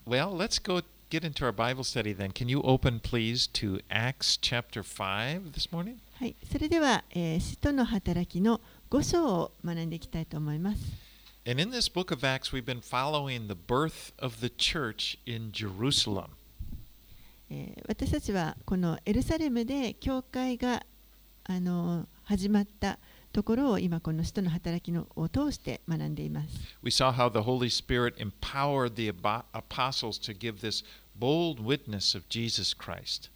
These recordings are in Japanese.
Well, let's go get into our Bible study then. Can you open, please, to Acts chapter 5 this morning? はい、それでは、使徒の働きの5章を学んでいきたいと思います。 And in this book of Acts, we've been following the birth of the church in Jerusalem. 私たちはこのエルサレムで教会が始まったところを今この使徒の働きを通して学んでいます。 We saw how the Holy Spirit empowered the apostles to give this bold witness of Jesus Christ.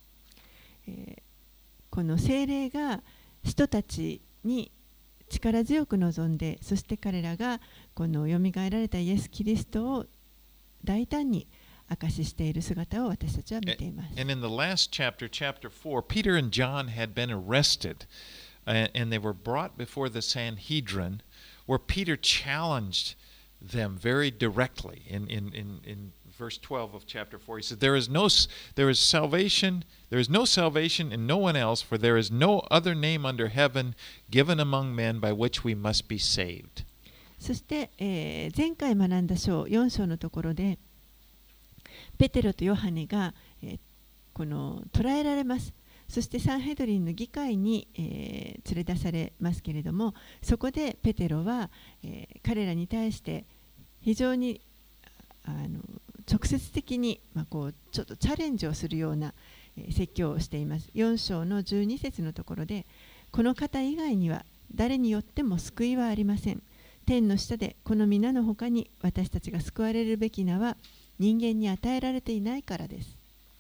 この聖霊が使徒たちに力強く望んで、そして彼らがこのよみがえられたイエス・キリストを大胆に証ししている姿を私たちは見ています。 And in the last chapter, chapter 4, Peter and John had been arrested, and they were brought before the Sanhedrin, where Peter challenged them very directly. In verse 12 of chapter 4, he said, there is no salvation in no one else, for there is no other name under heaven given among men by which we must be saved. そして、前回学んだ章4章のところでペテロとヨハネが、この捕らえられます。そしてサンヘドリンの議会に、連れ出されますけれども、そこでペテロは、彼らに対して非常に直接的に、こうちょっとチャレンジをするような、説教をしています。4章の12節のところで、この方以外には誰によっても救いはありません。天の下でこの皆の他に私たちが救われるべき名は人間に与えられていないからです。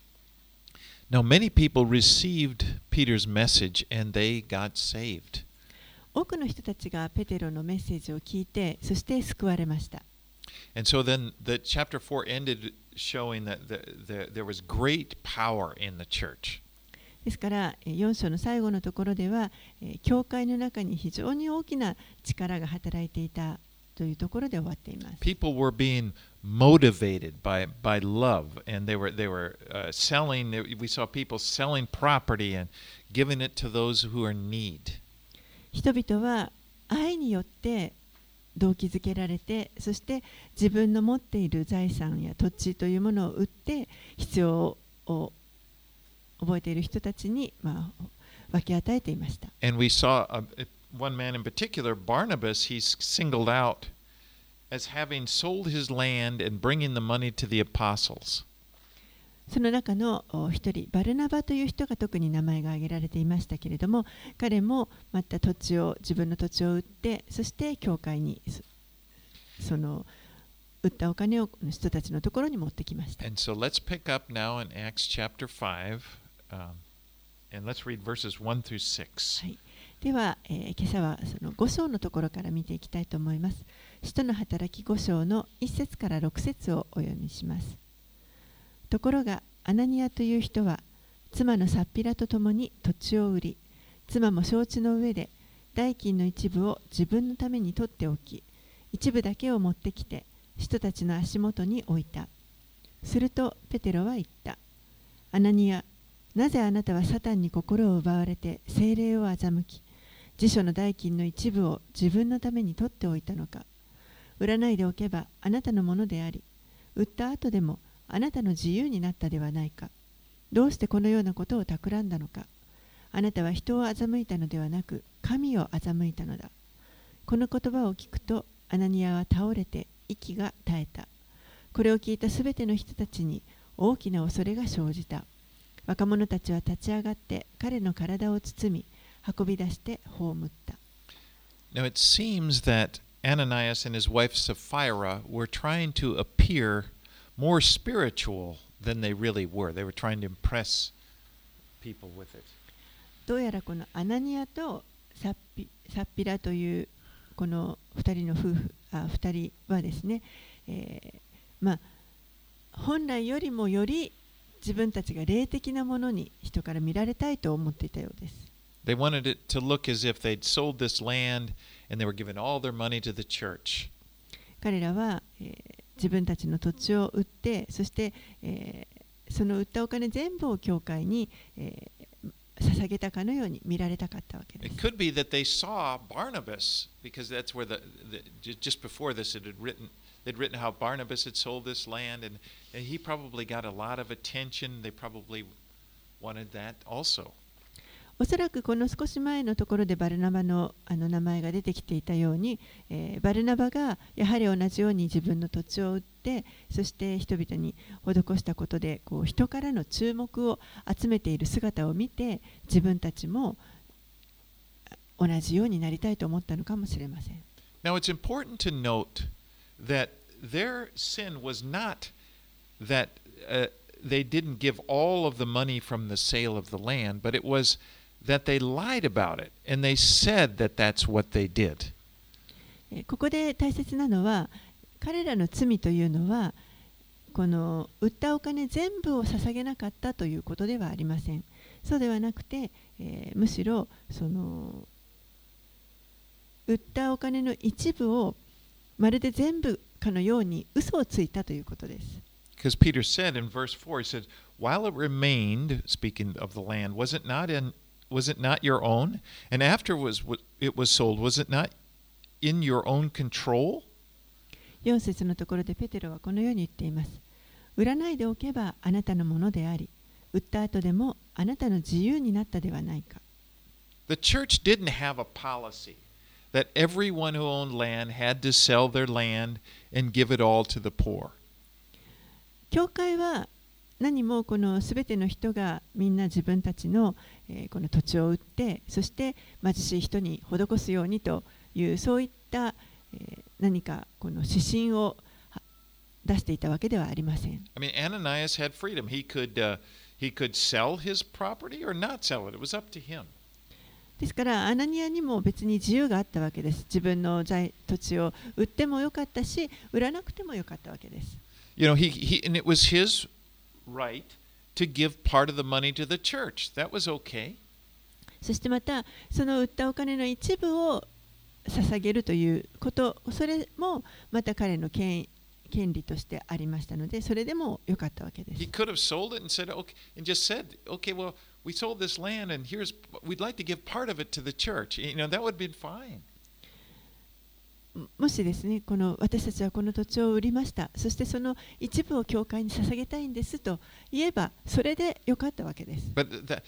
Now, many people received Peter's message and they got saved. 多くの人たちがペテロのメッセージを聞いて、そして救われました。 And so then the chapter 4 ended showing that there was great power in the church. ですから4章の最後のところでは、教会の中に非常に大きな力が働いていたというところで終わっています。 People were being motivated by love, and they were selling. We saw people selling property and giving it to those who are in need. 人々は愛によって動機づけられて、そして自分の持っている財産や土地というものを売って必要を覚えている人たちに、分け与えていました。 And we saw one man in particular, Barnabas. He's singled out as having sold his land and bringing the money to the apostles. その中の一人、バルナバという人が特に名前が挙げられていましたけれども、彼もまた自分の土地を売って、そして教会にその売ったお金を人たちのところに持ってきました。 And so let's pick up now in Acts chapter 5, and let's read verses 1 through 6. はい、では、今朝はその5章のところから見ていきたいと思います。使徒の働き5章の1節から6節をお読みします。ところがアナニアという人は妻のサッピラと共に土地を売り、妻も承知の上で代金の一部を自分のために取っておき、一部だけを持ってきて人たちの足元に置いた。するとペテロは言った。アナニア、なぜあなたはサタンに心を奪われて聖霊を欺き、辞書の代金の一部を自分のために取っておいたのか。売らないでおけばあなたのものであり、売った後でもあなたの自由になったではないか。どうしてこのようなことを企んだのか。あなたは人を欺いたのではなく、神を欺いたのだ。この言葉を聞くと、アナニアは倒れて息が絶えた。これを聞いたすべての人たちに大きな恐れが生じた。若者たちは立ち上がって彼の体を包み、運び出して葬った。 Now it seems that Ananias and his wife Sapphira were trying to appear more spiritual than they really were. They were trying to impress people with it. どうやらこのアナニアとサッピラというこの2人の2人はですね、本来よりもより自分たちが霊的なものに人から見られたいと思っていたようです。 They wanted it to look as if they'd sold this land and they were giving all their money to the church. 彼らは、自分たちの土地を売って、そして、その売ったお金全部を教会に、捧げたかのように見られたかったわけです。 It could be that they saw Barnabas, because that's where just before this it had they'd written how Barnabas had sold this land, and he probably got a lot of attention. They probably wanted that also. おそらくこの少し前のところでバルナバの名前が出てきていたように、バルナバがやはり同じように自分の土地を売って、そして人々に施したことでこう人からの注目を集めている姿を見て、自分たちも同じようになりたいと思ったのかもしれません。 Now it's important to note that their sin was not that they didn't give all of the money from the sale of the land, but it was that they lied about it and they said that that's what they did. ここで大切なのは、彼らの罪というのは、この売ったお金全部を捧げなかったということではありません。そうではなくて、むしろその売ったお金の一部をまるで全部かのように嘘をついたということです。 Because Peter said in verse 4, he said, while it remained, speaking of the land, was it not your own? And after it was sold, was it not in your own control? 4節のところでペテロはこのように言っています。売らないでおけばあなたのものであり、売った後でもあなたの自由になったではないか。 The church didn't have a policy that everyone who owned land had to sell their land and give it all to the poor. 教会は何もこのすべての人がみんな自分たちのこの土地を売って、そして貧しい人に施すようにというそういった何かこの指針を出していたわけではありません。 I mean, Ananias had freedom. He could sell his property or not sell it. It was up to him. ですからアナニアにも別に自由があったわけです。自分の土地を売ってもよかったし、売らなくてもよかったわけです。 You know, and it was his right to give part of the money to the church. That was okay. そしてまたその売ったお金の一部を捧げるということ、それもまた彼の権利としてありましたので、それでもよかったわけです。 He could have sold it and said, okay, and just said, okay, well, we sold this land and we'd like to give part of it to the church. You know, that would have been fine. もしですね、私たちはこの土地を売りました。そしてその一部を教会に捧げたいんですと言えば、それでよかったわけです。 But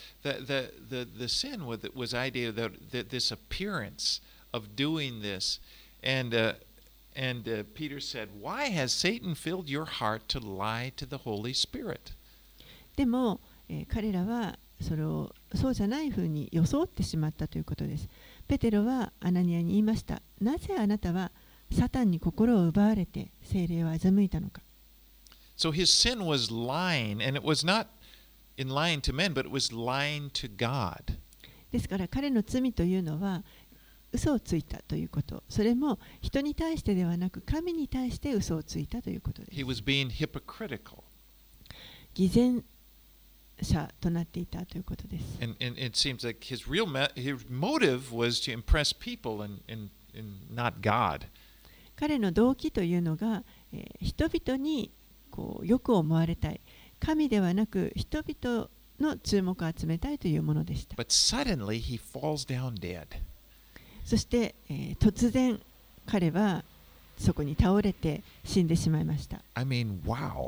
the sin was idea that this appearance of doing this, and Peter said, "Why has Satan filled your heart to lie to the Holy Spirit?" でも、彼らはそうじゃないふうに装ってしまったということです。ペテロはアナニアに言いました。なぜあなたはサタンに心を奪われて聖霊を欺いたのか。 So his sin was lying, and it was not in lying to men, but it was lying to God. ですから彼の罪というのは嘘をついたということ。それも人に対してではなく神に対して嘘をついたということです。 He was being hypocritical. 偽善者となっていたということです。 And it seems like his motive was to impress people and not God. 彼の動機というのが、人々によく思われたい。神ではなく人々の注目を集めたいというものでした。 But suddenly he falls down dead. そして、突然彼はそこに倒れて死んでしまいました。 I mean, wow.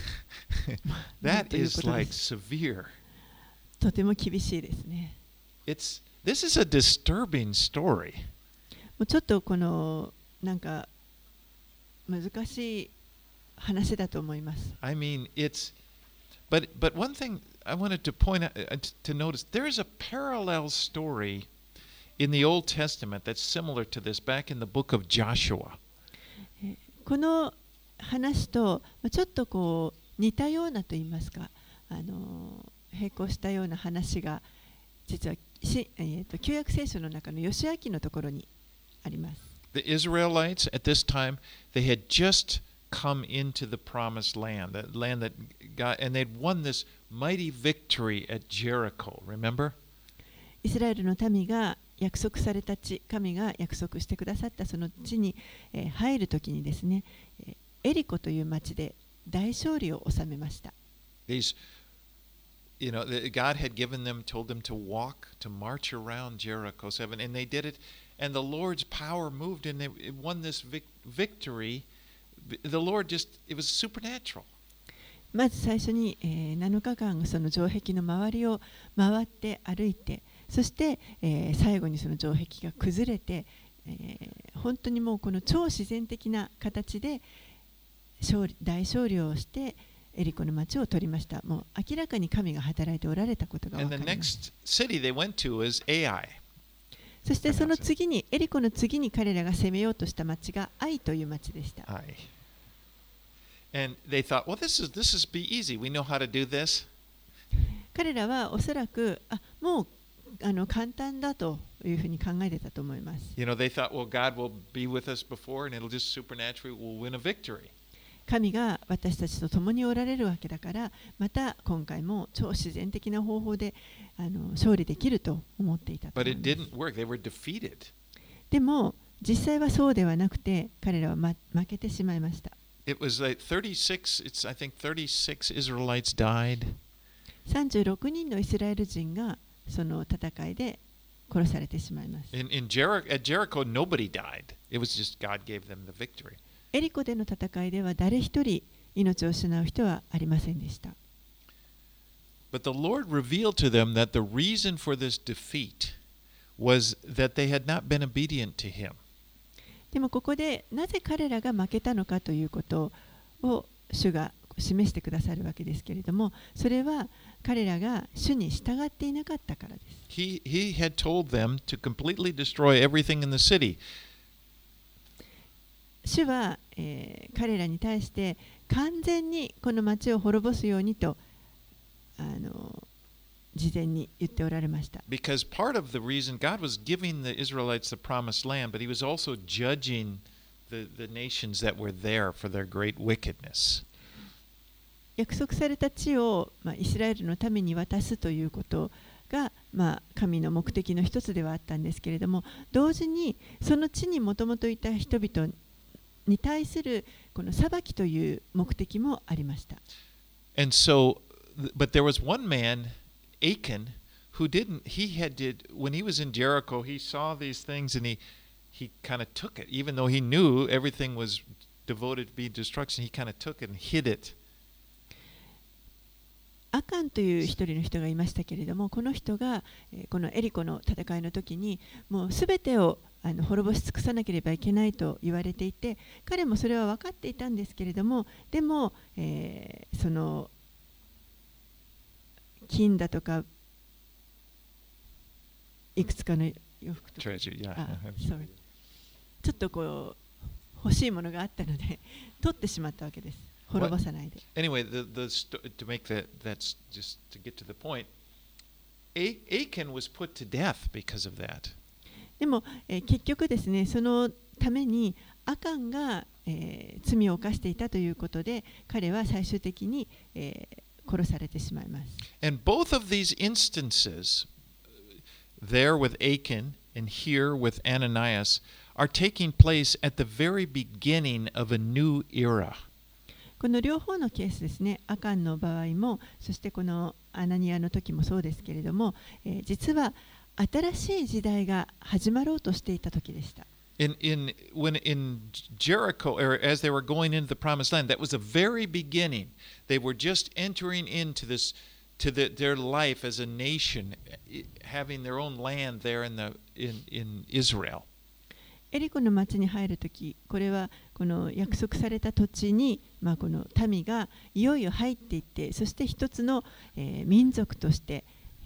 That is like severe. とても厳しいですね。 This is a disturbing story. もうちょっとなんか難しい話だと思います。 I mean, but one thing I wanted to point out to notice, there is a parallel story in the Old Testament that's similar to this back in the book of Joshua. この話とちょっと似たようなと言いますか、並行したような話が実は旧約聖書の中のヨシュア記のところにあります。 The Israelites at this time, they had just come into the promised land, the land that God, and they'd won this mighty victory at Jericho. Remember? イスラエルの民が約束された地、神が約束してくださったその地に入るときにですね、エリコという町で大勝利を収めました。 God had told them to walk, to march around Jericho 7, and they did it, and the Lord's power moved, and they won this victory the Lord just, it was supernatural. まず最初に、7日間その城壁の周りを回って歩いて、そして、最後にその城壁が崩れて、本当にもうこの超自然的な形で大勝利をしてエリコの町を取りました。もう明らかに神が働いておられたことが分かります。そしてその次にエリコの次に彼らが攻めようとした町がアイという町でした。 And they thought, well, this is be easy. We know how to do this. 彼らはおそらくもう簡単だというふうに考えてたと思います。 You know, they thought, well, God will be with us before, and it'll just supernaturally we'll win a victory. 神が私たちと共におられるわけだから、また今回も超自然的な方法で勝利できると思っていたと思います。 But it didn't work. They were defeated. でも実際はそうではなくて、彼らは負けてしまいました。 It was like 36, I think 36 Israelites died. 36人のイスラエル人がその戦いで殺されてしまいます。 At Jericho, nobody died. It was just God gave them the victory. エリコでの戦いでは誰一人命を失う人はありませんでした。 But the Lord revealed to them that the reason for this defeat was that they had not been obedient to Him. でもここでなぜ彼らが負けたのかということを主が示してくださるわけですけれども、それは彼らが主に従っていなかったからです。 He had told them to completely destroy everything in the city. 主は、彼らに対して完全にこの町を滅ぼすようにと事前に言っておられました。 Because part of the reason God was giving the Israelites the promised land, but He was also judging the nations that were there for their great wickedness. 約束された地を、イスラエルのために渡すということが、神の目的の一つではあったんですけれども、同時にその地にもともといた人々に対するこの裁きという目的もありました。 And so, but there was one man, Achan, who didn't. When he was in Jericho, he saw these things and he kind of took it, even though he knew everything was devoted to be destruction. He kind of took it and hid it. アカンという一人の人がいましたけれども、この人がこのエリコの戦いの時にもうすべてを滅ぼし尽くさなければいけないと言われていて、彼もそれは分かっていたんですけれども、でも、その金だとかいくつかの洋服とか、ちょっとこう欲しいものがあったので取ってしまったわけです。滅ぼさないで。 Anyway, to make that's just to get to the point, Achan was put to death because of that. でも、結局ですね、そのためにアカンが、罪を犯していたということで、彼は最終的に、殺されてしまいます。 And both of these instances, there with Achan and here with Ananias, are taking place at the very beginning of a new era. この両方のケースですね、アカンの場合も、そしてこのアナニアの時もそうですけれども、実は新しい時代が始まろうとしていた時でした。 In Jericho, or as they were going into the promised land, that was the very beginning. They were just entering into this, their life as a nation, having their own land there in Israel. エリコの町に入るとき、これはこの約束された土地に、この民がいよいよ入っていって、そして一つの、民族として、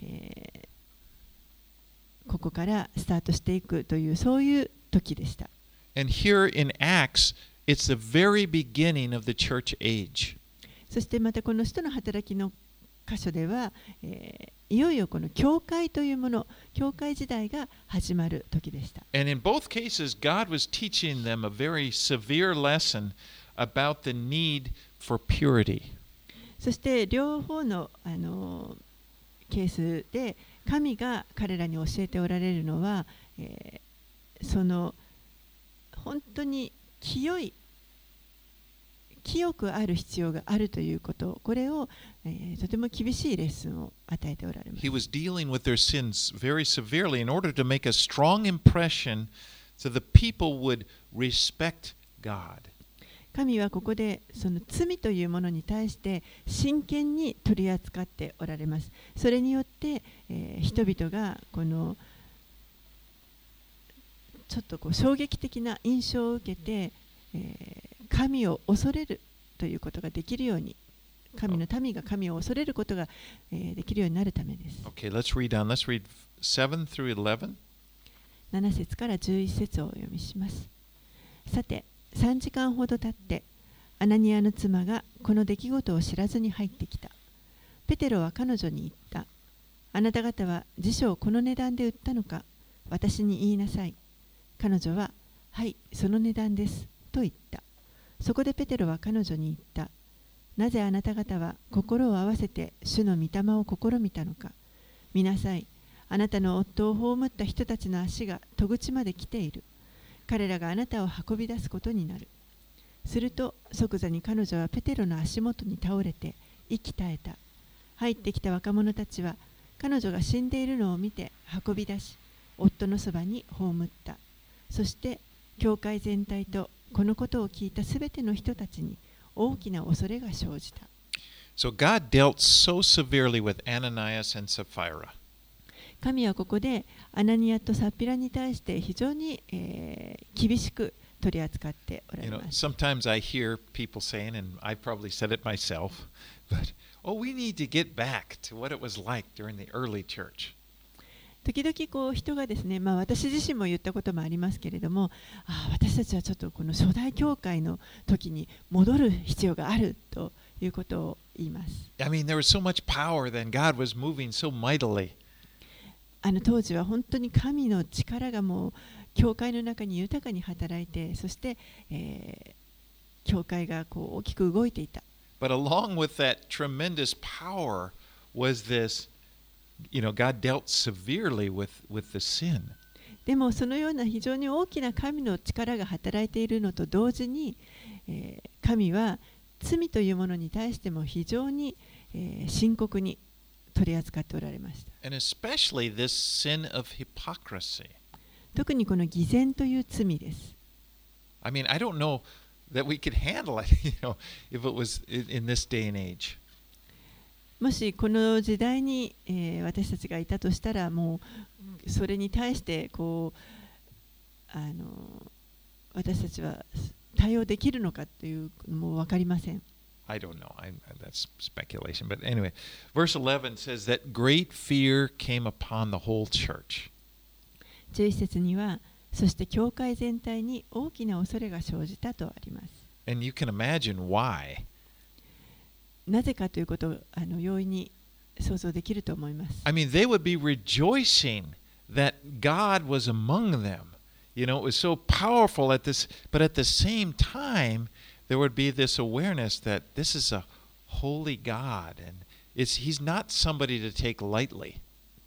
ここからスタートしていくという、そういう時でした。 And here in Acts, it's the very beginning of the church age. そしてまたこの使徒の働きの箇所では、いよいよこの教会というもの、教会時代が始まる時でした。 And in both cases, God was teaching them a very severe lesson about the need for purity. そして両方の、ケースで神が彼らに教えておられるのは、その本当に清くある必要があるということ、これを、とても厳しいレッスンを与えておられます。 He was dealing with their sins very severely in order to make a strong impression so the people would respect God. 神はここでその罪というものに対して真剣に取り扱っておられます。それによって、人々がこのちょっとこう衝撃的な印象を受けて、神を恐れるということができるように、神の民が神を恐れることが、できるようになるためです。 Okay, let's read on. Let's read 7 through 11. 7節から11節をお読みします。さて、3時間ほど経って、アナニアの妻がこの出来事を知らずに入ってきた。ペテロは彼女に言った。あなた方は辞書をこの値段で売ったのか、私に言いなさい。彼女は、はい、その値段です、と言った。そこでペテロは彼女に言った。なぜあなた方は心を合わせて主の御霊を試みたのか。見なさい。あなたの夫を葬った人たちの足が戸口まで来ている。彼らがあなたを運び出すことになる。すると即座に彼女はペテロの足元に倒れて息絶えた。入ってきた若者たちは彼女が死んでいるのを見て運び出し、夫のそばに葬った。そして教会全体とこのことを聞いたすべての人たちに大きな恐れが生じた。 So God dealt so severely with Ananias and Sapphira. 神はここでアナニアとサッピラに対して非常に、厳しく取り扱っておられます。 Sometimes I hear people saying, and I probably said it myself, but we need to get back to what it was like during the early church. 時々こう人がですね、私自身も言ったこともありますけれども、私たちはちょっとこの初代教会の時に戻る必要があるということを言います。 I mean, there was so much power then. God was moving so mightily. 当時は本当に神の力がもう教会の中に豊かに働いて、そして、教会がこう大きく動いていた。 But along with that tremendous power was this, God dealt severely with the sin. でもそのような非常に大きな神の力が働いているのと同時に、神は罪というものに対しても非常に、深刻に取り扱っておられました。 And especially this sin of hypocrisy. 特にこの偽善という罪です。 I mean, I don't know that we could handle it, if it was in this day and age. もしこの時代に、私たちがいたとしたら、もうそれに対してこう私たちは対応できるのかというのも分かりません。 I don't know. That's speculation. But anyway, verse 11 says that great fear came upon the whole church. 11節には、そして教会全体に大きな恐れが生じたとあります。 And you can imagine why. なぜかということを容易に想像できると思います。 I mean, they would be rejoicing that God was among them. It was so powerful but at the same time, there would be this awareness that this is a holy God and He's not somebody to take lightly.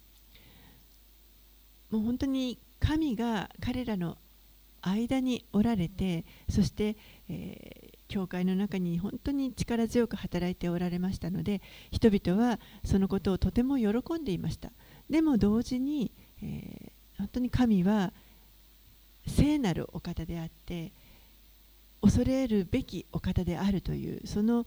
もう本当に神が彼らの間におられて、そして、教会の中に本当に力強く働いておられましたので、人々はそのことをとても喜んでいました。でも同時に、本当に神は聖なるお方であって、恐れるべきお方であるというその、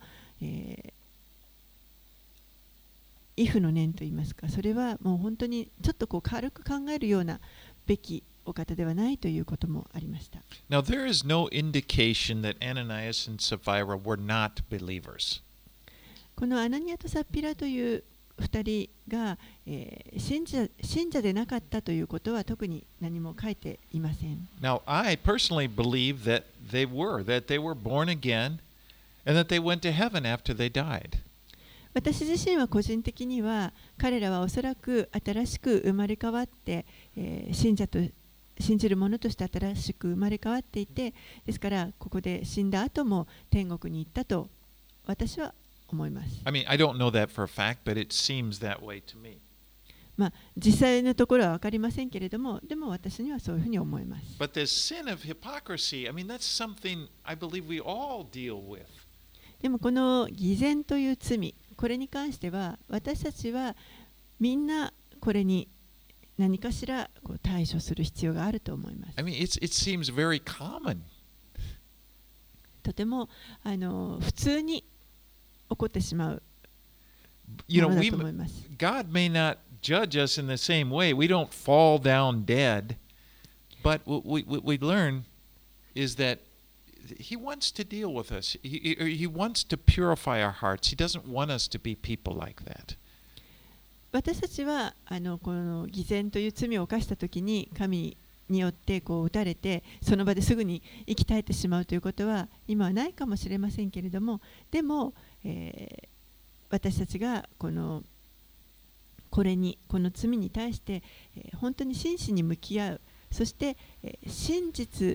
畏怖の念といいますか、それはもう本当にちょっとこう軽く考えるようなべきお方ではないということもありました。 Now there is no indication that Ananias and Sapphira were not believers. このアナニアとサッピラという2人が、信者でなかったということは特に何も書いていません。 Now, I personally believe that they were born again and that they went to heaven after they died. 私自身は個人的には彼らはおそらく新しく生まれ変わって、信じる者として新しく生まれ変わっていて、ですからここで死んだ後も天国に行ったと私は思います。 I mean, I don't know that for a fact, but it seems that way to me. 実際のところは分かりませんけれども、でも私にはそういうふうに思います。 But this sin of hypocrisy, I mean, that's something I believe we all deal with. でもこの偽善という罪、これに関しては私たちはみんなこれに何かしらこう対処する必要があると思います。 I mean, it seems very common. とても普通に起こってしまう You も know, の we だと思います。 God may not judge us in the same way. We don't fall down dead, but what we learn is that He wants to deal with us. He wants to purify our hearts. He doesn't want us to be people like that. 私たちはこの偽善という罪を犯したときに神によってこう打たれてその場ですぐに生き絶えてしまうということは今はないかもしれませんけれども、でも、私たちがこの罪に対して、本当に真摯に向き合う、そして、真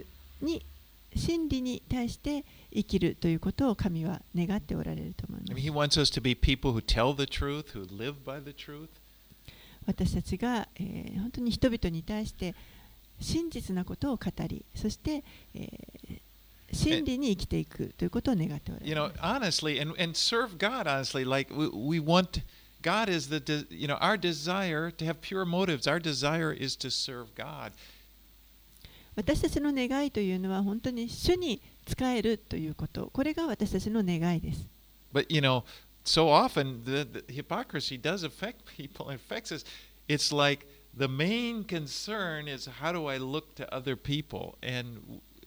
理に対して生きるということを神は願っておられると思います。 He wants us to be people who tell the truth, who live by the truth. 私たちが、本当に人々に対して真実なことを語り、そして、真理に生きていくということを願っておられます。 Honestly, and serve God honestly, like we want, God is our desire to have pure motives. Our desire is to serve God. 私たちの願いというのは本当に主に仕えるということ、これが私たちの願いです。 But so often the hypocrisy does affect people, it affects us. It's like the main concern is how do I look to other people, and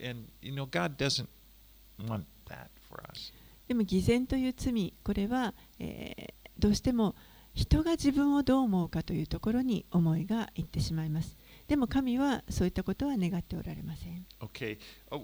God doesn't want that for us. でも偽善という罪、これは、どうしても人が自分をどう思うかというところに思いがいってしまいます。でも神はそういったことは願っておられません。 Okay.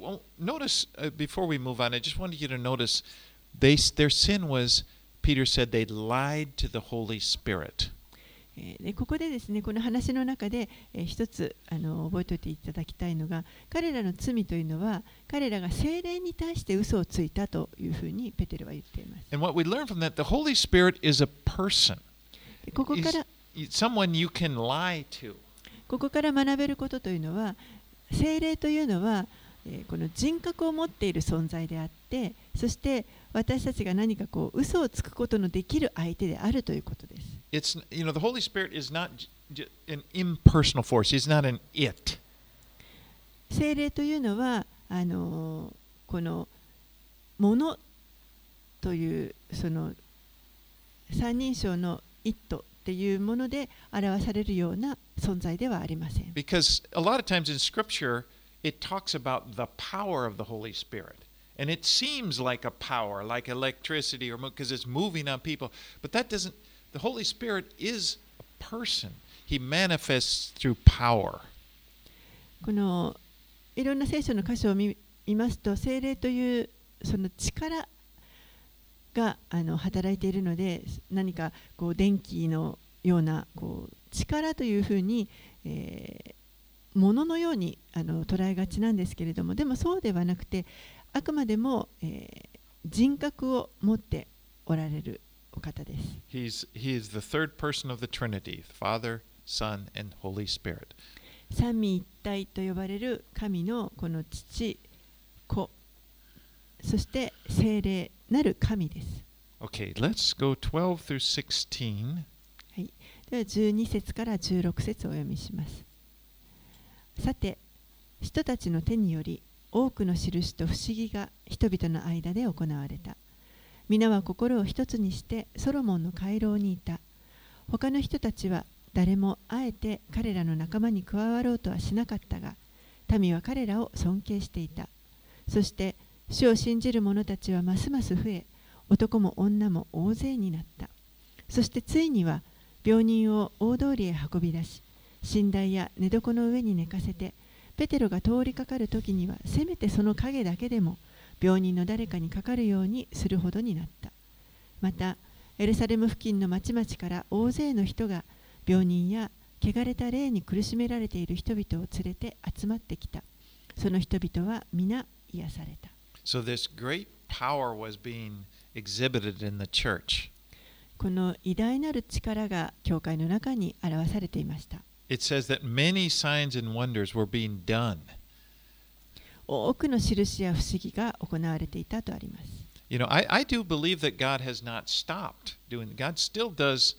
Notice, before we move on, I just wanted you to notice their sin was, Peter said, they lied to the Holy Spirit. でここでですね、この話の中で、一つ覚えておいていただきたいのが、彼らの罪というのは彼らが聖霊に対して嘘をついたというふうにペテルは言っています。 And what we learn from that, the Holy Spirit is a person. ここから Someone you can lie to. ここから学べることというのは、聖霊というのは、この人格を持っている存在であって、そして私たちが何か嘘をつくことのできる相手であるということです。 The Holy Spirit is not an impersonal force. He's not an it. 聖霊というのはこのものというその三人称の it っていうもので表されるような存在ではありません。 Because a lot of times in Scripture, it talks about the power of the Holy Spirit. And it seems like a power, like electricity, or because it's moving on people. But that doesn't, the Holy Spirit is a person. He manifests through power. このいろんな聖書の箇所を見ますと、聖霊というその力が働いているので、何か電気のような力というふうに、もののように捉えがちなんですけれども、でもそうではなくて、あくまでも、人格を持っておられるお方です。 He is the third person of the Trinity, Father, Son, and Holy Spirit. 三位一体と呼ばれる神のこの父、子、そして聖霊なる神です。 Okay, let's go 12 through 16. はい、では12節から16節をお読みします。さて、人たちの手により多くの印と不思議が人々の間で行われた。皆は心を一つにしてソロモンの回廊にいた。他の人たちは誰もあえて彼らの仲間に加わろうとはしなかったが、民は彼らを尊敬していた。そして主を信じる者たちはますます増え、男も女も大勢になった。そしてついには病人を大通りへ運び出し、寝台や寝床の上に寝かせて、ペテロが通りかかるときにはせめてその影だけでも病人の誰かにかかるようにするほどになった。またエルサレム付近の町々から大勢の人が病人や汚れた霊に苦しめられている人々を連れて集まってきた。その人々は皆癒された。 So this great power was being exhibited in the church. この偉大なる力が教会の中に表されていました。 It says that many signs and wonders were being done. 多くの印や不思議が行われていたとあります。 I do believe that God has not stopped doing. God still does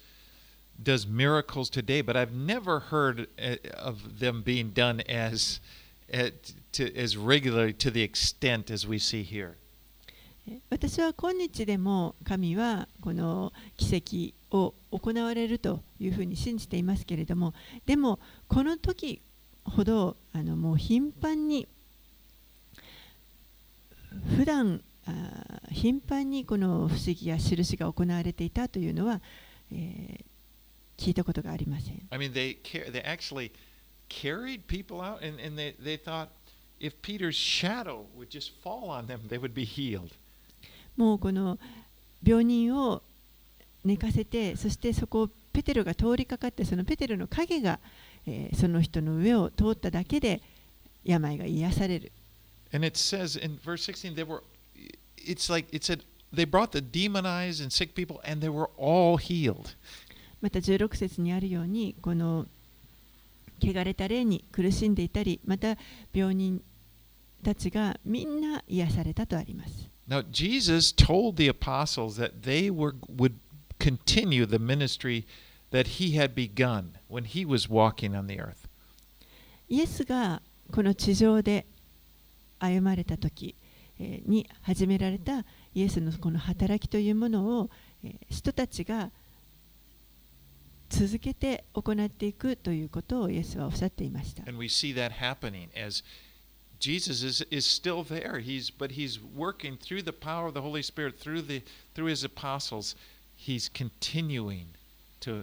miracles today, but I've never heard of them being done as regularly to the extent as we see here. 私は今日でも神はこの奇跡を行われるというふうに信じていますけれども、でもこの時ほどもう頻繁に頻繁にこの不思議や印が行われていたというのは、聞いたことがありません。 I mean, they actually carried people out, and they thought if Peter's shadow would just fall on them, they would be healed. もうこの病人を寝かせて、そしてそこをペテロが通りかかって、そのペテロの影が、その人の上を通っただけで病が癒される。 And it says in verse 16, it's like it said, they brought the demonized and sick people, and they were all healed. また16節にあるように、この汚れた霊に苦しんでいたり、また病人たちがみんな癒されたとあります。 Now, Jesus told the apostles that they would continue the ministry that he had begun when he was walking on the earth. イエスがこの地上で歩まれた時に始められたイエスのこの働きというものを人たちが続けて行っていくということをイエスはおっしゃっていました。 And we see that happening as Jesus is still there. But he's working through the power of the Holy Spirit through his apostles. He's continuing to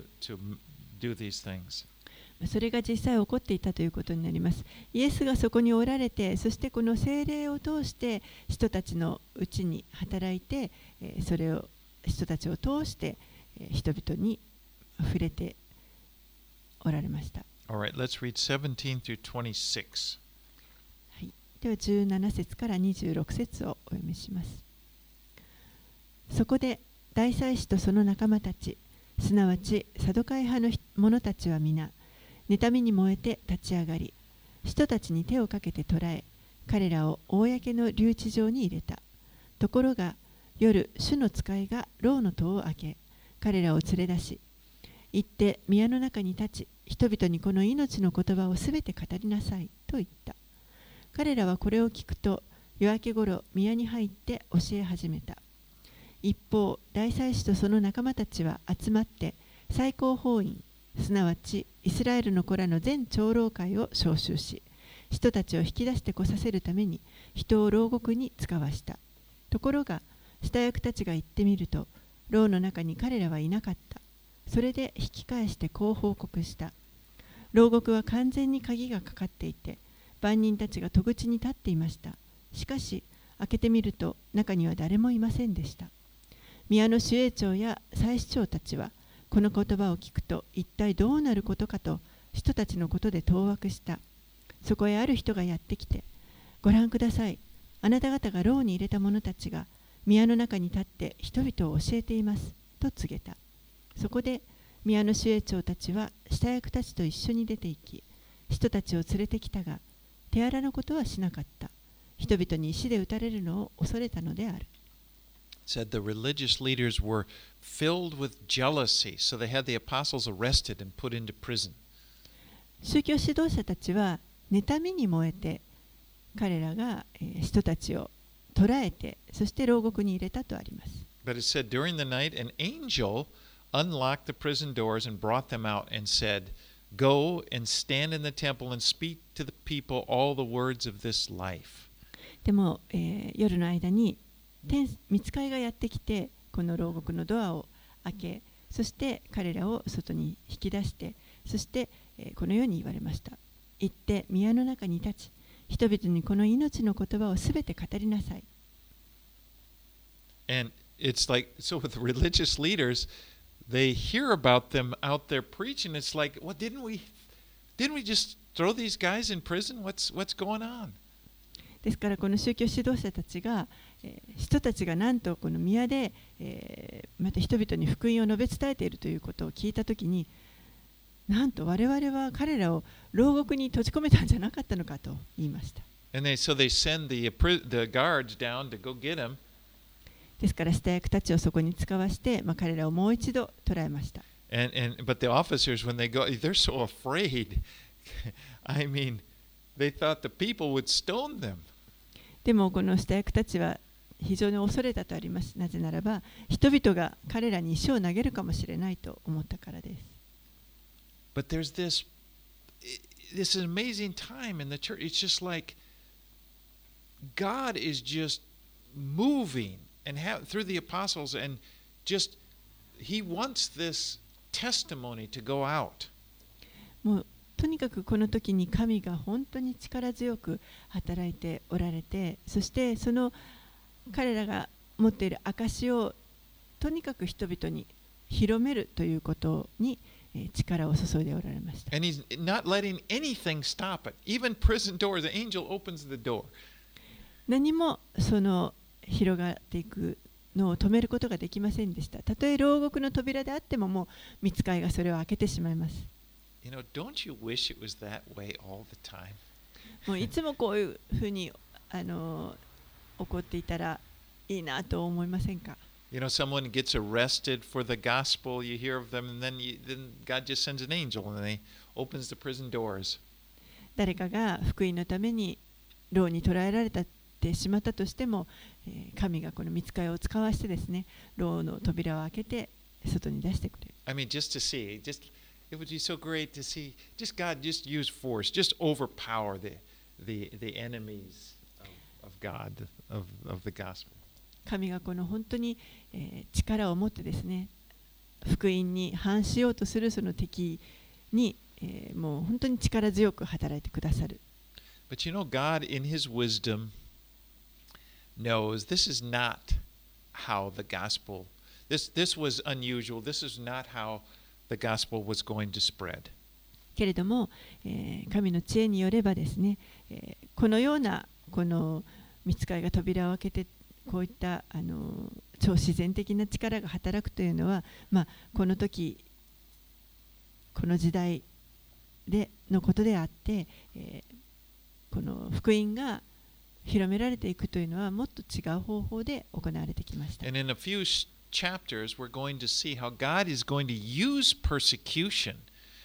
do these things. それが実際起こっていたということになります。イエスがそこにおられて、そしてこの聖霊を通して人たちのうちに働いて、それを人たちを通して人々に触れておられました。 All right, let's read 17 through 26. はい、では17節から26節をお読みします。そこで大祭司とその仲間たち、すなわちサドカイ派の者たちは皆、妬みに燃えて立ち上がり、人たちに手をかけて捕らえ、彼らを公の留置場に入れた。ところが夜、主の使いが牢の戸を開け、彼らを連れ出し、行って宮の中に立ち、人々にこの命の言葉をすべて語りなさいと言った。彼らはこれを聞くと、夜明けごろ宮に入って教え始めた。一方、大祭司とその仲間たちは集まって、最高法院、すなわちイスラエルの子らの全長老会を招集し、人たちを引き出してこさせるために人を牢獄に使わした。ところが下役たちが行ってみると、牢の中に彼らはいなかった。それで引き返してこう報告した。牢獄は完全に鍵がかかっていて、番人たちが戸口に立っていました。しかし開けてみると中には誰もいませんでした。宮の守衛長や祭司長たちはこの言葉を聞くと一体どうなることかと人たちのことで当惑した。そこへある人がやってきて、ご覧ください。あなた方が牢に入れた者たちが宮の中に立って人々を教えていますと告げた。そこで宮の守衛長たちは下役たちと一緒に出て行き、人たちを連れてきたが、手荒なことはしなかった。人々に石で撃たれるのを恐れたのである。 Said the religious leaders were filled with jealousy, so they had the apostles arrested and put into prison. 宗教指導者たちは妬みに燃えて、彼らが人たちを捕らえて、そして牢獄に入れたとあります。 But it said during the night, an angel unlocked the prison doors and brought them out and said, Go and stand in the temple and speak to the people all the words of this life. でも、夜の間に御使いがやってきて、この牢獄のドアを開け、そして彼らを外に引き出して、そして、このように言われました。行って宮の中に立ち、人々にこの命の言葉をすべて語りなさい。 And it's like, so with the religious leaders, they hear about them out there preaching. It's like, well, didn't we just throw these guys in prison? What's going on? ですからこの宗教指導者たちが、人たちがなんとこの宮で、また人々に福音を述べ伝えているということを聞いたときに、なんと我々は彼らを牢獄に閉じ込めたんじゃなかったのかと言いました。 And so they send the guards down to go get him. ですから下役たちをそこに使わして、彼らをもう一度捕らえました。 But the officers, when they go, they're so afraid. I mean, they thought the people would stone them. でもこの下役たちは非常に恐れたとあります。なぜならば、人々が彼らに石を投げるかもしれないと思ったからです。 But there's this amazing time in the church. It's just like God is just moving and through the apostles, and just He wants this testimony to go out. もうとにかくこの時に神が本当に力強く働いておられて、そしてその彼らが持っている証をとにかく人々に広めるということに力を注いでおられました。 And He's not letting anything stop it. Even prison doors, the angel opens the door. 何もその広がっていくのを止めることができませんでした。たとえ牢獄の扉であっても、もう御使いがそれを開けてしまいます。 You know, don't you wish it was that way all the time? もういつもこういうふうに起こっていたらいいなと思いませんか？ You know, someone gets arrested for the gospel, you hear of them, and then God just sends an angel and he opens the prison doors. 誰かが福音のために牢に捕らえられてしまったとしても、神がこの御使いを使わしてですね、牢の扉を開けて外に出してくれる。 I mean, just to see, it would be so great to see, just God just use force, just overpower the enemies of God, of the gospel. 神がこの本当に、力を持ってですね、福音に反しようとするその敵に、もう本当に力強く働いてくださる。 But you know, God in His wisdom knows this is not how the gospel, this was unusual, this is not how the gospel was going to spread. けれども、神の知恵によればですね、このようなこの御使いが扉を開けてこういった超自然的な力が働くというのは、この時この時代のことであって、この福音が広められていくというのはもっと違う方法で行われてきました。 And in a few chapters, we're going to see how God is going to use persecution.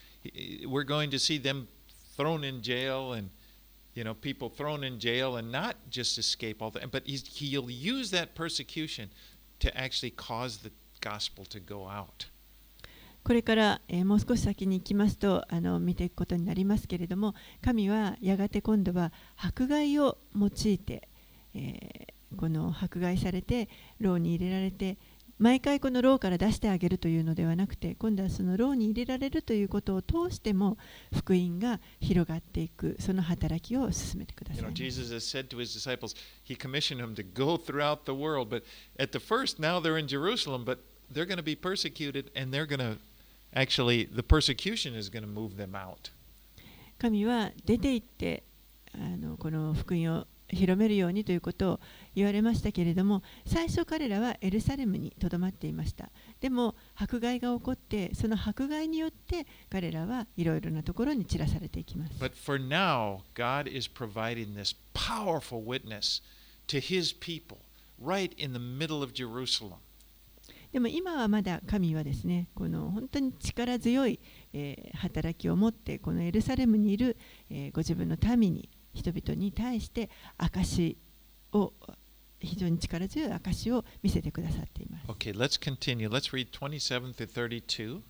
We're going to see them thrown in jail and people thrown in jail and not just escape all that, but He'll use that persecution to actually cause the gospel to go out. これから、もう少し先に行きますと見ていくことになりますけれども、神はやがて今度は迫害を用いて、この迫害されて牢に入れられて、毎回この牢から出してあげるというのではなくて、今度はその牢に入れられるということを通しても福音が広がっていく、その働きを進めてください。 Jesus has said to His disciples, He commissioned them to go throughout the world, but at the first, now they're in Jerusalem, but they're going to be persecuted, and they're going to actually, the persecution is going to move them out. 神は出て行ってこの福音を広めるようにということを言われましたけれども、最初彼らはエルサレムにとどまっていました。でも迫害が起こって、その迫害によって彼らはいろいろなところに散らされていきます。 But for now, God is providing this powerful witness to His people right in the middle of Jerusalem. でも今はまだ神はですね、この本当に力強い、働きを持ってこのエルサレムにいる、ご自分の民に人々に対して証を非常に力強い証を見せてくださっています。 Okay, let's continue. Let's read 27 through 32.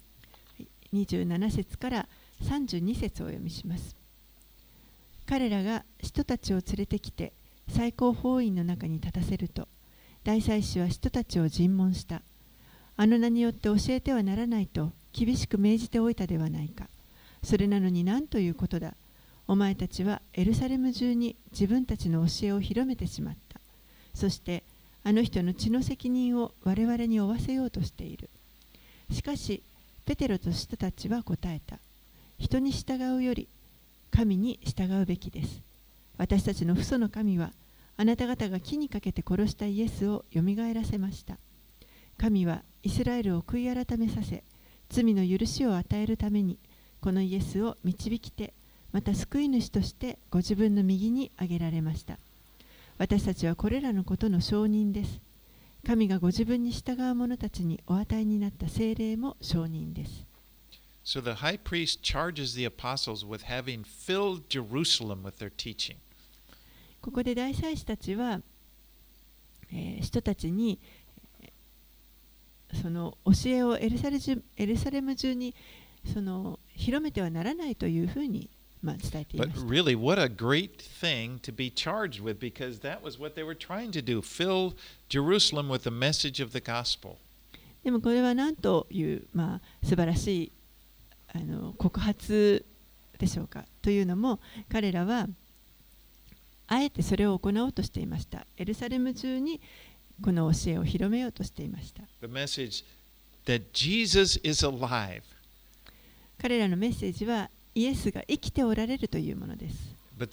27節から32節をお読みします。彼らが人たちを連れてきて最高法院の中に立たせると、大祭司は人たちを尋問した。あの名によって教えてはならないと厳しく命じておいたではないか。それなのに何ということだ。お前たちはエルサレム中に自分たちの教えを広めてしまった。そしてあの人の血の責任を我々に負わせようとしている。しかしペテロと人たちは答えた。人に従うより神に従うべきです。私たちの父祖の神はあなた方が木にかけて殺したイエスをよみがえらせました。神はイスラエルを悔い改めさせ、罪の許しを与えるためにこのイエスを導きて、また救い主としてご自分の右に挙げられました。私たちはこれらのことの証人です。神がご自分に従う者たちにお与えになった聖霊も証人です。 So the high priest charges the apostles with having filled Jerusalem with their teaching. ここで大祭司たちは人たちにその教えをエルサレム中にその広めてはならないというふうに伝えていま But した。 really, what a great thing to be charged with, because that was what they were trying to do, fill Jerusalem with the message of the gospel. でもこれは何という、素晴らしい告発でしょうか。というのも彼らはあえてそれを行おうとしていました。エルサレム中にこの教えを広めようとしていました。 The message that Jesus is alive. 彼らのメッセージはイエスが生きておられるというものです。 But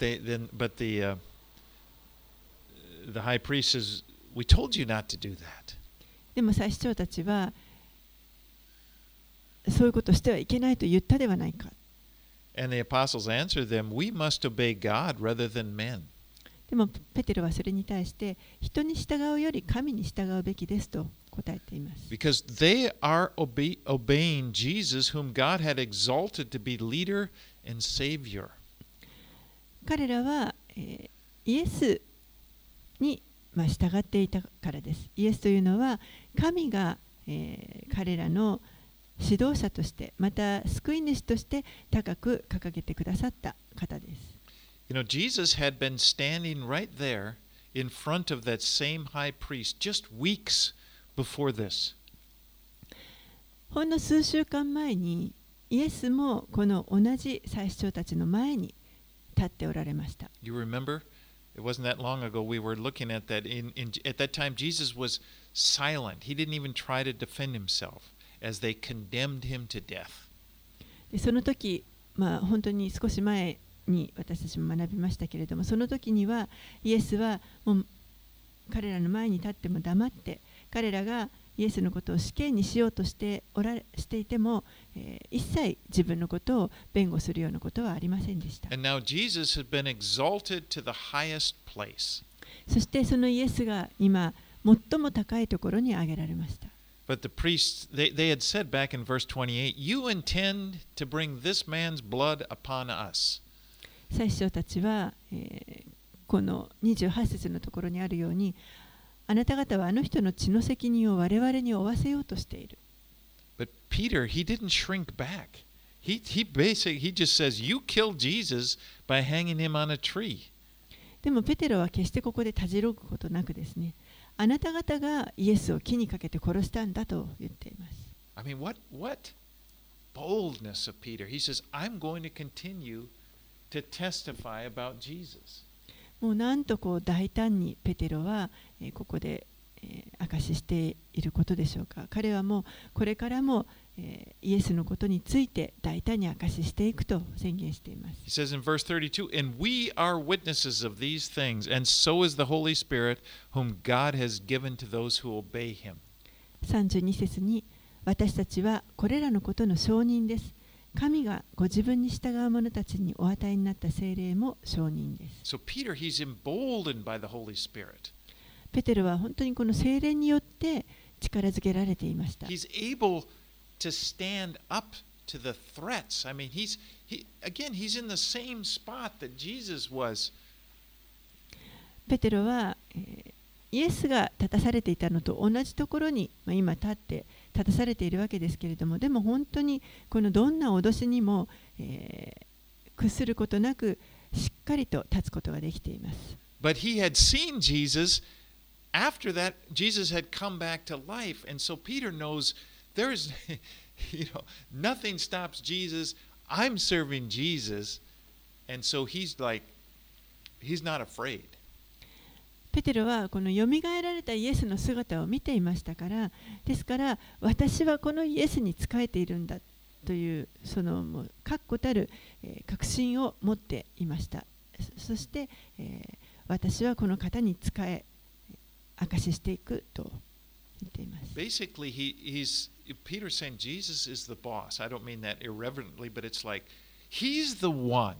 the high priest says, "We told you not to do that." でも祭司長たちはそういうことをしてはいけないと言ったではないか。 And the apostles answered them, "We must obey God rather than men." でもペテロはそれに対して人に従うより神に従うべきですと答えています。 Because they are obeying Jesus, whom God had exalted to be leader and savior. 彼らは、イエスに、従っていたからです。イエスというのは神が、彼らの指導者としてまた救い主として高く掲げてくださった方です。 You know, Jesus had been standing right there in front of that same high priest just weeks before this. ほんの数週間前にイエスもこの同じ祭司長たちの前に立っておられました。 You remember? It wasn't that long ago we were looking at that. At that time, Jesus was silent. He didn't even try to defend himself as they condemned him to death. でその時、本当に少し前に私たちも学びましたけれども、その時にはイエスはもう彼らの前に立っても黙って、彼らがイエスのことを死刑にしようとしていても、一切自分のことを弁護するようなことはありませんでした。 And now Jesus had been exalted to the highest place. そしてそのイエスが今最も高いところに上げられました。 But the priests, they had said back in verse 28, "You intend to bring this man's blood upon us." 祭司長たちは、この28節のところにあるように、あなた方はあの人の血の責任を我々に負わせようとしている。 But Peter, he didn't shrink back. He just says, "You killed Jesus by hanging him on a tree." でもペテロは決してここでたじろぐことなくですね、あなた方がイエスを木にかけて殺したんだと言っています。 I mean, what boldness of Peter. He says, "I'm going to continue to testify about Jesus." もうなんとこう大胆にペテロはここで証ししていることでしょうか。彼はもうこれからもイエスのことについて大胆に証ししていくと宣言しています。 He says in verse 32, "And we are witnesses of these things, and so is the Holy Spirit, whom God has given to those who obey him." 32節に私たちはこれらのことの証人です。神がご自分に従う者たちにお与えになった聖霊も証人です。 So Peter, he's emboldened by the Holy Spirit. ペテロは本当にこの聖霊によって力づけられていました。 He's able to stand up to the threats. I mean, he's in the same spot that Jesus was. ペテロは、イエスが立たされていたのと同じところに、今立たされているわけですけれども、でも本当にこのどんな脅しにも、屈することなくしっかりと立つことができています。 But he had seen Jesus. After that, Jesus had come back to life, and so Peter knows there's, nothing stops Jesus. I'm serving Jesus, and so he's not afraid. ペテロはこのよみがえられたイエスの姿を見ていましたから、ですから私はこのイエスに仕えているんだというそのもう確固たる確信を持っていました。そして、私はこの方に仕え証ししていくと言っています。 Basically, Peter's saying Jesus is the boss. I don't mean that irreverently, but it's like he's the one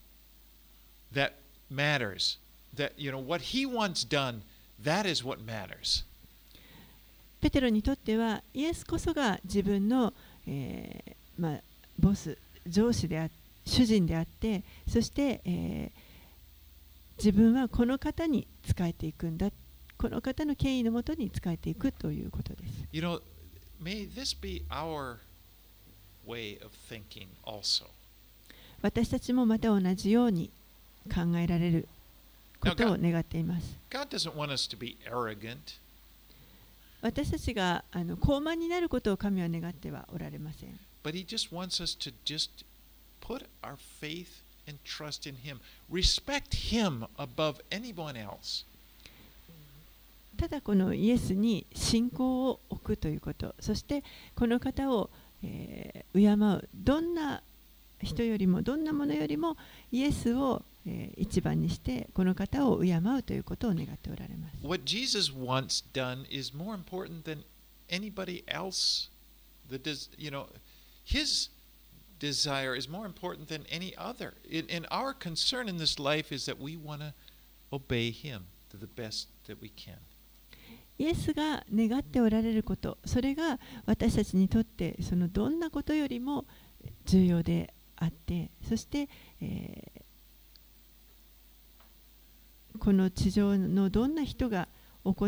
that matters. That what he wants done, that is what matters. ペテロにとってはイエスこそが自分の、ボス、上司で主人であって、そして、自分はこの方に仕えていくんだ。 この方の権威のもとに仕えていくということです。 You know, may this be our way of thinking also. 私たちもまた同じように考えられることを願っています。 God doesn't want us to be arrogant. 私たちが高慢になることを神は願ってはおられません。 But He just wants us to just put our faith and trust in Him. Respect Him above anyone else. ただこのイエスに信仰を置くということ、そしてこの方を、敬う、どんな人よりもどんなものよりもイエスを、一番にしてこの方を敬うということを願っておられます。 What Jesus wants done is more important than anybody else. His desire is more important than any other. And our concern in this life is that we want to obey Him to the best that we can. イエスが願っておられること、それが私たちにとってそのどんなことよりも重要であって、そして、この地上のどんな人が行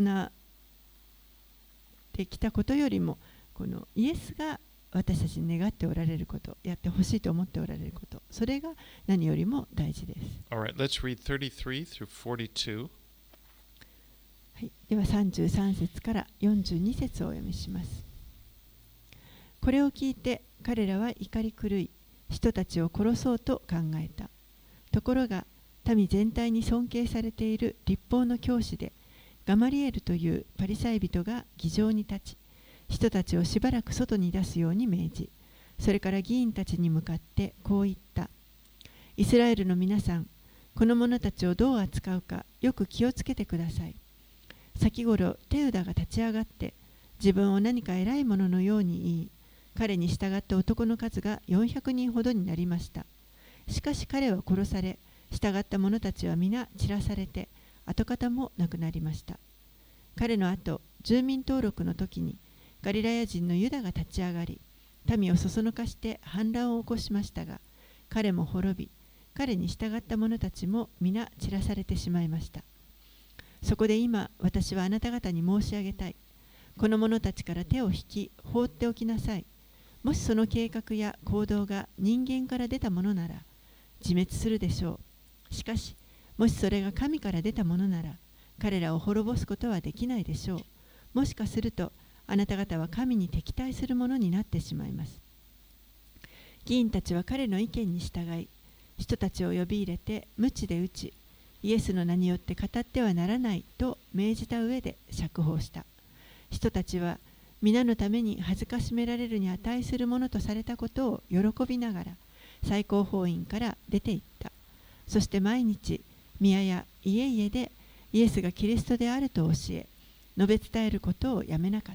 ってきたことよりも、このイエスが私たちに願っておられること、やってほしいと思っておられること、それが何よりも大事です。 All right, let's read 33 through 42. はい、では33節から42節をお読みします。これを聞いて彼らは怒り狂い、人たちを殺そうと考えた。ところが民全体に尊敬されている律法の教師でガマリエルというパリサイ人が議場に立ち、人たちをしばらく外に出すように命じ、それから議員たちに向かってこう言った。イスラエルの皆さん、この者たちをどう扱うかよく気をつけてください。先頃テウダが立ち上がって自分を何か偉いもののように言い、彼に従った男の数が400人ほどになりました。しかし彼は殺され、従った者たちは皆散らされて、跡形もなくなりました。彼の後、住民登録の時にガリラヤ人のユダが立ち上がり、民をそそのかして反乱を起こしましたが、彼も滅び、彼に従った者たちも皆散らされてしまいました。そこで今、私はあなた方に申し上げたい。この者たちから手を引き、放っておきなさい。もしその計画や行動が人間から出たものなら、自滅するでしょう。しかし、もしそれが神から出たものなら、彼らを滅ぼすことはできないでしょう。もしかすると、あなた方は神に敵対するものになってしまいます。議員たちは彼の意見に従い、人たちを呼び入れて、鞭で打ち、イエスの名によって語ってはならないと命じた上で釈放した。人たちは皆のために恥ずかしめられるに値するものとされたことを喜びながら最高法院から出て行った。そして毎日宮や家々でイエスがキリストであると教え、述べ伝えることをやめなかった。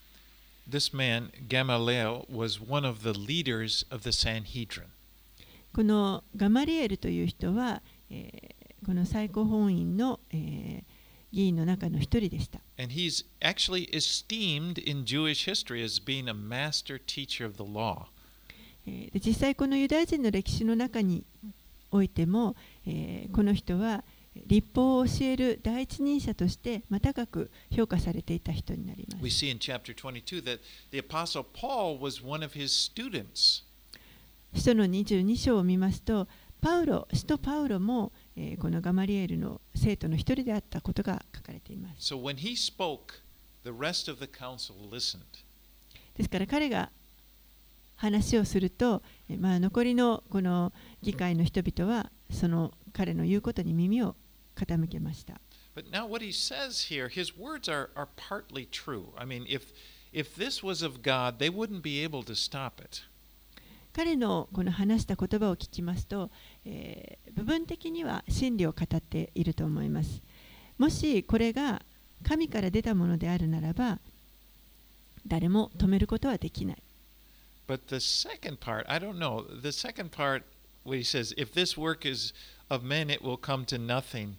This man, Gamaliel, was one of the leaders of the Sanhedrin. このガマリエルという人は、この最高法院の、議員の中の一人でした。 And he's actually esteemed in Jewish history as being a master teacher of the law. で実際このユダヤ人の歴史の中においても、この人は律法を教える第一人者として高く評価されていた人になります。 We see in chapter 22 that the apostle Paul was one of his students. 使徒の22章を見ますと、使徒パウロも、このガマリエルの生徒の一人であったことが書かれています。 So when he spoke, the rest of the council listened. ですから彼が話をすると、残りのこの議会の人々はその彼の言うことに耳を傾けました。 But now what he says here, his words are partly true. I mean, if this was of God, they wouldn't be able to stop it. 彼のこの話した言葉を聞きますと、部分的には真理を語っていると思います。もしこれが神から出たものであるならば、誰も止めることはできない。 But the second part, I don't know. The second part, where he says, if this work is of men, it will come to nothing.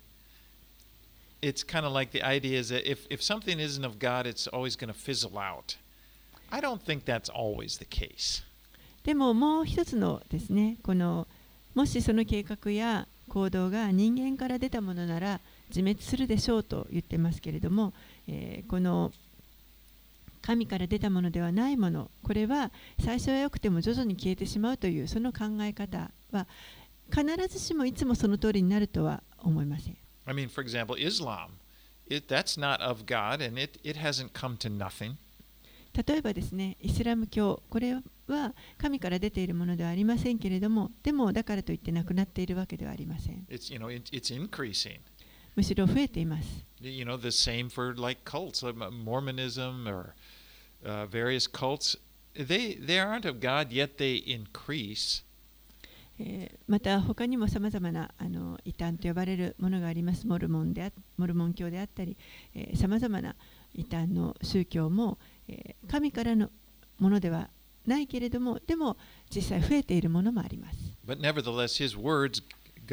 It's kind of like the idea is that if something isn't of God, it's always going to fizzle out. I don't think that's always the case. でももう一つのですね、もしその計画や行動が人間から出たものなら自滅するでしょうと言ってますけれども、この神から出たものではないもの、これは最初は良くても徐々に消えてしまうというその考え方は必ずしもいつもその通りになるとは思いません。 I mean, for example, Islam, that's not of God and it hasn't come to nothing. 例えばですね、イスラム教、これは神から出ているものではありませんけれども、でもだからといってなくなっているわけではありません。 It's increasing. むしろ増えています。 The same for like cults, like Mormonism or various cults. They aren't of God, yet they increase. また他にもさまざまな異端と呼ばれるものがあります。モルモン教であったり、さまざまな異端の宗教も、神からのものではないけれども、でも実際増えているものもあります。 But nevertheless, his words,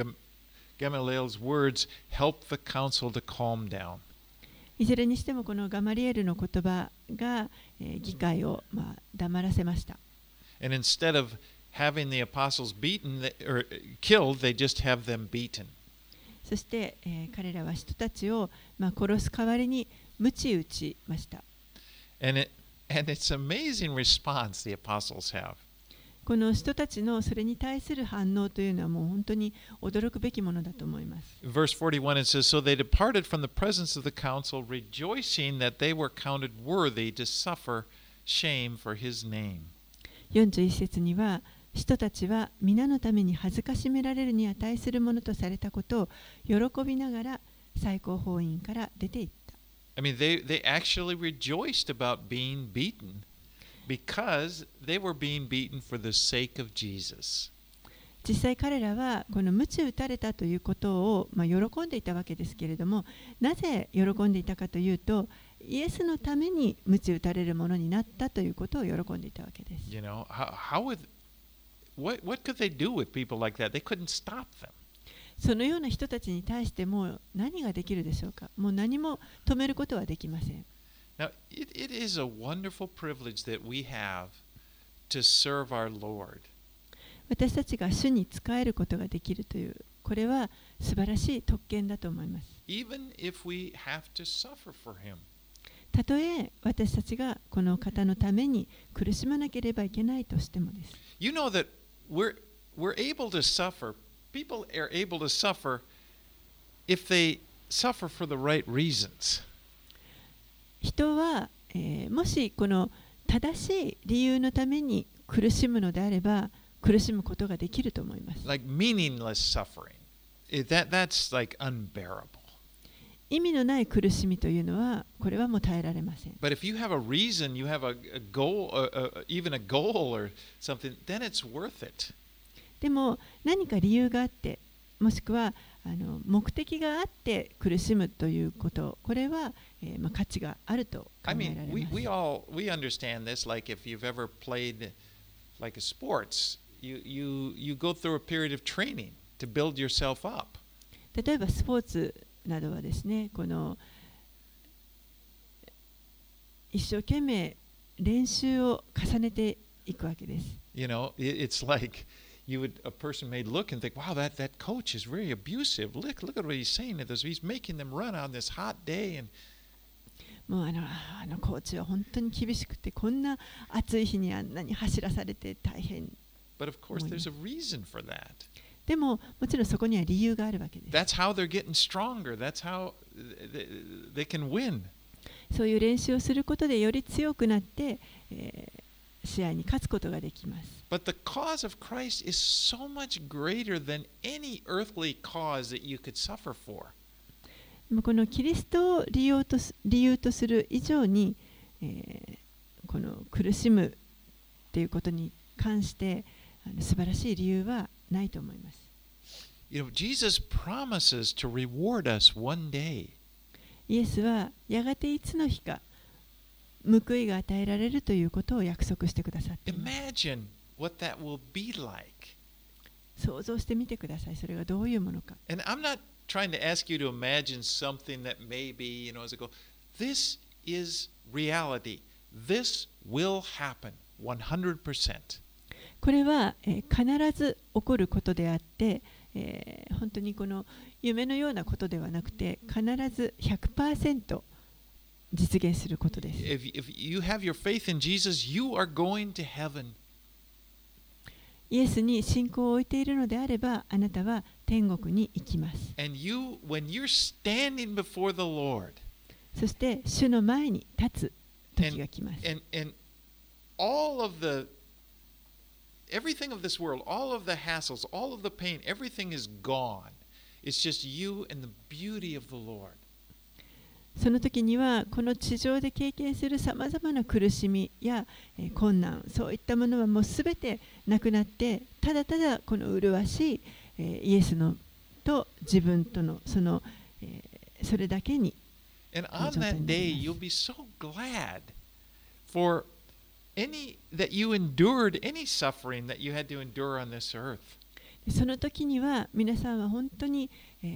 Gamaliel's words, help the council to calm down. いずれにしてもこのガマリエルの言葉が、議会を、黙らせました。 And instead of having the apostles beaten or killed, they just have them beaten. そして、彼らは人たちを、殺す代わりに鞭打ちました。 And it's amazing response the apostles have. この人たちのそれに対する反応というのはもう本当に驚くべきものだと思います。 Verse 41 it says, So they departed from the presence of the council, rejoicing that they were counted worthy to suffer shame for his name. 41節には、人たちは皆のために恥ずかしめられるに値するものとされたことを喜びながら最高法院から出ていった。 I mean, they actually rejoiced about being beaten because they were being beaten for the sake of Jesus. 実際彼らはこの鞭打たれたということを、喜んでいたわけですけれども、なぜ喜んでいたかというと、イエスのために鞭打たれるものになったということを喜んでいたわけです。 What could they do with people like that? They couldn't stop them. そのような人たちに対しても何ができるでしょうか。もう何も止めることはできません。 Now, it is a wonderful privilege that we have to serve our Lord. 私たちが主に仕えることができるという、これは素晴らしい特権だと思います。 Even if we have to suffer for him. たとえ私たちがこの方のために苦しまなければいけないとしてもです。 You know that we're able to suffer. People are able to suffer if they suffer for the right reasons. 人は、もしこの正しい理由のために苦しむのであれば苦しむことができると思います。 Like meaningless suffering. That's like unbearable. 意味のない苦しみというのはこれはもう耐えられません。 But if you have a reason, you have a goal, even a goal or something, then it's worth it. でも何か理由があって、もしくは目的があって苦しむということ、これは、価値があると考えられます。 we understand this. Like if you've ever played like a sports, you go through a period of training to build yourself up. 例えばスポーツなどはですね、この一生懸命練習を重ねていくわけです。 It's like a person may look and think, wow, that coach is very abusive. Look at what he's saying to us. He's making them run on this hot day. もうあのコーチは本当に厳しくて、こんな暑い日にあんなに走らされて大変。 But of course, there's a reason for that. でも、もちろんそこには理由があるわけです。 That's how they're getting stronger. That's how they can win. そういう練習をすることでより強くなって、試合に勝つことができます。 But the cause of Christ is so much greater than any earthly cause that you could suffer for. このキリストを理由とする以上に、この苦しむということに関して素晴らしい理由はないと思います。 Jesus promises to reward us one day. イエスはやがていつの日か報いが与えられるということを約束してくださっています。 Imagine what that will be like. 想像してみてください。それがどういうものか。 And I'm not trying to ask you to imagine something that maybe, as I go, this is reality. This will happen 100%. これは、必ず起こることであって、本当にこの夢のようなことではなくて、必ず 100% 実現することです。 If you have your faith in Jesus, you are going to heaven. イエスに信仰を置いているのであれば、あなたは天国に行きます。 And when you're standing before the Lord, そして主の前に立つ時が来ます。 and all of everything of this world, all of the hassles, all of the pain, everything is gone. It's just you and the beauty of the Lord. その時にはこの地上で経験するさまざまな苦しみや困難、そういったものはもうすべてなくなって、ただただこの麗しいイエスのと自分とのそれだけに。 And on that day, you'll be so glad for that you endured any suffering that you had to endure on this earth. その時には皆さんは本当に、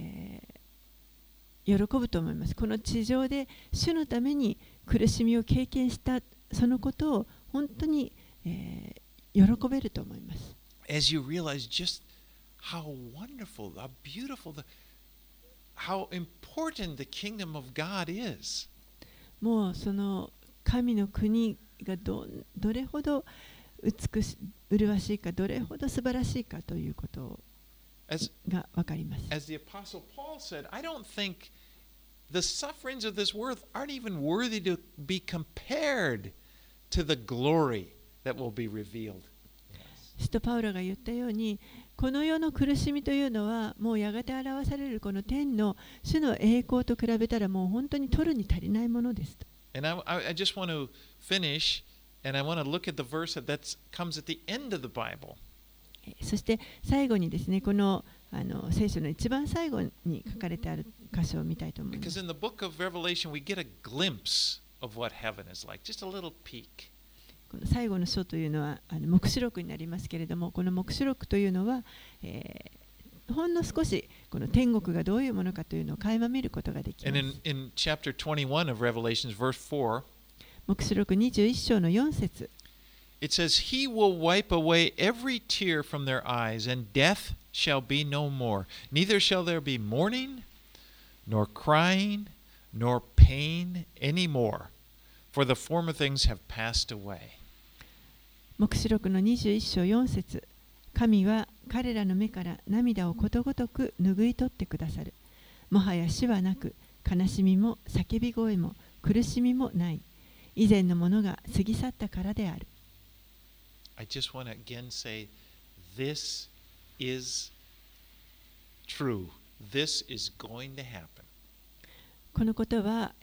喜ぶと思います。この地上で主のために苦しみを経験したそのことを本当に、喜べると思います。 As you realize just how wonderful, how beautiful, how important the kingdom of God is. もうその神の国がどれほど麗しいか、どれほど素晴らしいかということが分かります。 As the Apostle Paul said, I don't think the sufferings of this world aren't even worthy to be compared to the glory that will be revealed. 使徒パウロが言ったように、この世の苦しみというのはもうやがて表されるこの天の主の栄光と比べたらもう本当に取るに足りないものです。 And I just want to finish, and I want to look at the verse that comes at the end of the Bible. そして最後にですね、この聖書の一番最後に書かれてある箇所を見たいと思います。 Because in the book of Revelation, we get a glimpse of what heaven is like, just a little peek. この最後の書というのは黙示録になりますけれども、この黙示録というのは、ほんの少しこの天国がどういうものかというのを垣間見ることができます。 And in chapter 21 of Revelations, verse 4, 黙示録21章の4節、 it says, He will wipe away every tear from their eyes, and death shall be no more. Neither shall there be mourning, nor crying, nor pain any more, for the former things have passed away. 黙示録の21章4節、神は彼らの目から涙をことごとく拭い取ってくださる。もはや死はなく、悲しみも叫び声も苦しみもない。以前のものが過ぎ去ったからである。 I just want to again say, this is true. This is going to happen. このことは、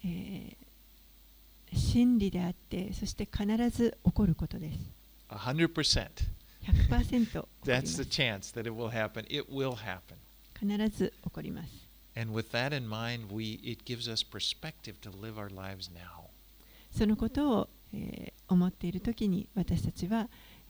真理であって、そして必ず起こることです。 100%. 100% 起こりま That's す。 the chance that it will happen. It will happen. 必ず起こります。 And with that in mind, it gives us perspective to live our lives now. そのことを、思っているときに私たちは、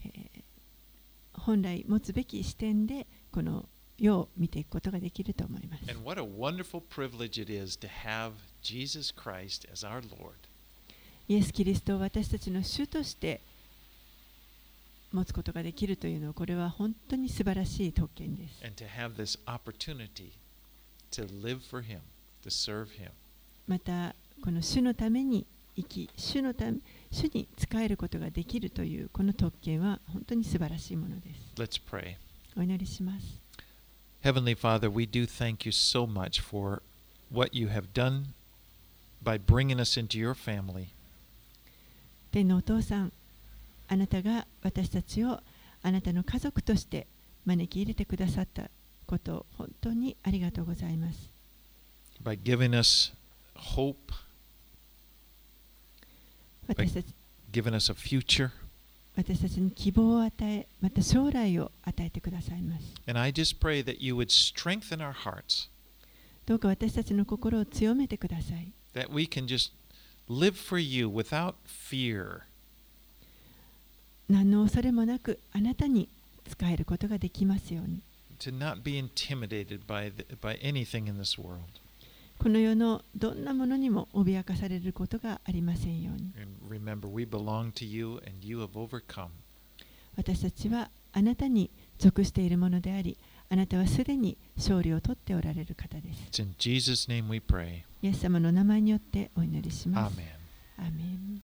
本来持つべき視点でこの世を見ていくことができると思います。 And what a wonderful privilege it is to have Jesus Christ as our Lord. イエス・キリストを私たちの主として持つことができるというのは、これは本当に素晴らしい特権です。 And to have this opportunity to live for Him, to serve Him. また、この主のために生き、主に仕えることができるというこの特権は本当に素晴らしいものです。 Let's pray. お祈りします。 Heavenly Father, we do thank you so much for what you have done by bringing us into your family. 天のお父さん、あなたが私たちをあなたの家族として招き入れてくださったことを本当にありがとうございます。 By giving us hope, 私たち giving us a future. 私たちに希望を与え、また将来を与えてくださいます。 And I just pray that you would strengthen our hearts, どうか私たちの心を強めてください。 that we can just live for you without fear. 何の恐れもなくあなたに仕えることができますように。 To not be intimidated by anything in this world. この世のどんなものにも脅かされることがありませんように。 And remember, we belong to you and you have overcome. 私たちはああなたに属しているものであり、あなたはすでに勝利を取っておられる方です。 It's in Jesus' name we pray. イエス様の名前によってお祈りします。 Amen. アーメン。